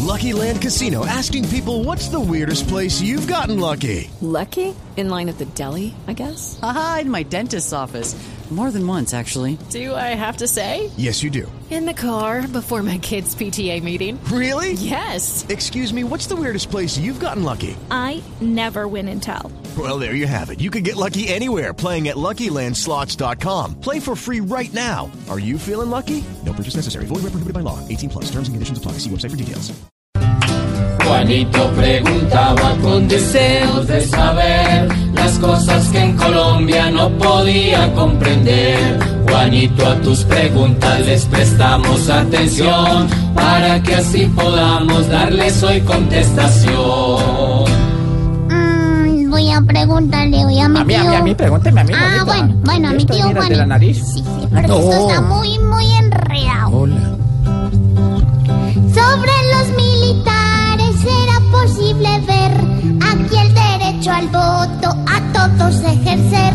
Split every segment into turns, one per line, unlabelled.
Lucky Land Casino, asking people, what's the weirdest place you've gotten lucky?
Lucky? In line at the deli, I guess?
Aha, in my dentist's office. More than once, actually.
Do I have to say?
Yes, you do.
In the car before my kids' PTA meeting.
Really?
Yes.
Excuse me, what's the weirdest place you've gotten lucky?
I never win and tell.
Well, there you have it. You can get lucky anywhere, playing at LuckyLandSlots.com. Play for free right now. Are you feeling lucky? No purchase necessary. Void where prohibited by law. 18+. Terms and conditions apply. See website for details.
Juanito preguntaba con deseos de saber las cosas que en Colombia no podía comprender. Juanito, a tus preguntas les prestamos atención para que así podamos darles hoy contestación.
Voy a preguntarle hoy a mi tío.
A mí, pregúnteme a mí.
Bueno, a mi tío Juanito.
¿De la nariz?
Sí, pero esto está muy enredado.
Hola.
Sobre los militares era posible ver aquí el derecho al voto a todos ejercer.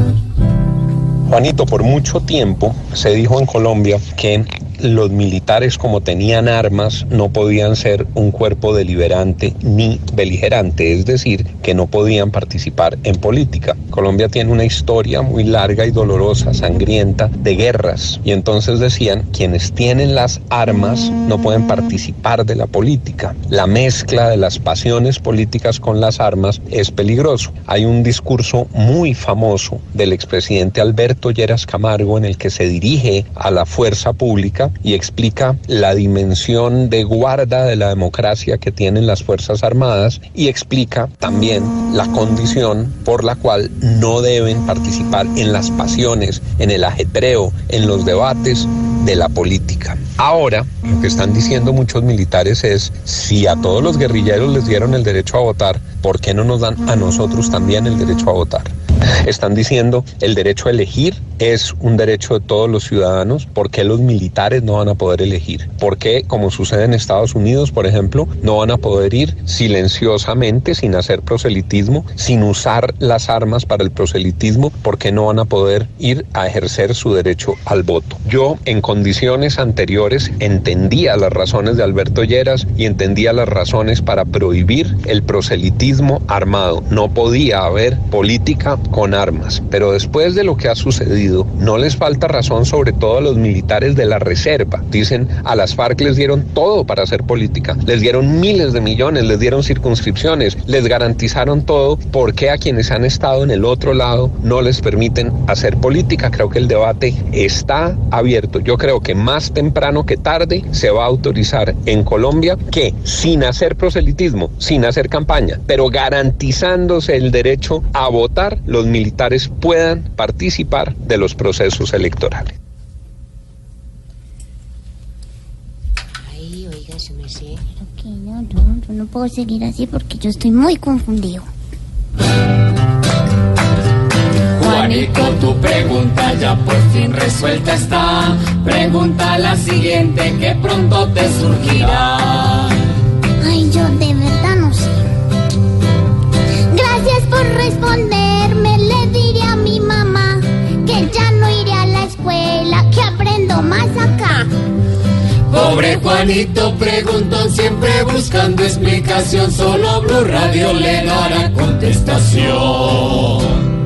Juanito, por mucho tiempo se dijo en Colombia que los militares, como tenían armas, no podían ser un cuerpo deliberante ni beligerante, es decir, que no podían participar en política. Colombia tiene una historia muy larga y dolorosa, sangrienta, de guerras, y entonces decían, quienes tienen las armas no pueden participar de la política. La mezcla de las pasiones políticas con las armas es peligroso. Hay un discurso muy famoso del expresidente Alberto Lleras Camargo en el que se dirige a la fuerza pública y explica la dimensión de guarda de la democracia que tienen las Fuerzas Armadas y explica también la condición por la cual no deben participar en las pasiones, en el ajetreo, en los debates de la política. Ahora, lo que están diciendo muchos militares es, si a todos los guerrilleros les dieron el derecho a votar, ¿por qué no nos dan a nosotros también el derecho a votar? Están diciendo, el derecho a elegir es un derecho de todos los ciudadanos. ¿Por qué los militares no van a poder elegir? ¿Por qué, como sucede en Estados Unidos, por ejemplo, no van a poder ir silenciosamente, sin hacer proselitismo, sin usar las armas para el proselitismo? ¿Por qué no van a poder ir a ejercer su derecho al voto? Yo, en condiciones anteriores, entendía las razones de Alberto Lleras y entendía las razones para prohibir el proselitismo armado. No podía haber política con armas, pero después de lo que ha sucedido, no les falta razón, sobre todo a los militares de la reserva. Dicen, a las FARC les dieron todo para hacer política, les dieron miles de millones, les dieron circunscripciones, les garantizaron todo. ¿Por qué a quienes han estado en el otro lado no les permiten hacer política? Creo que el debate está abierto. Yo creo que más temprano que tarde se va a autorizar en Colombia que, sin hacer proselitismo, sin hacer campaña, pero garantizándose el derecho a votar, los militares puedan participar de los procesos electorales.
Ay, oiga, su merced. Pero que yo no puedo seguir así porque yo estoy muy confundido.
Juanito, tu pregunta ya por fin resuelta está. Pregunta la siguiente que pronto te surgirá.
Ay, yo de verdad no sé. Gracias por responderme, le diré a mi mamá que ya no iré a la escuela, que aprendo más acá.
Pobre Juanito preguntó, siempre buscando explicación, solo Blue Radio le dará contestación.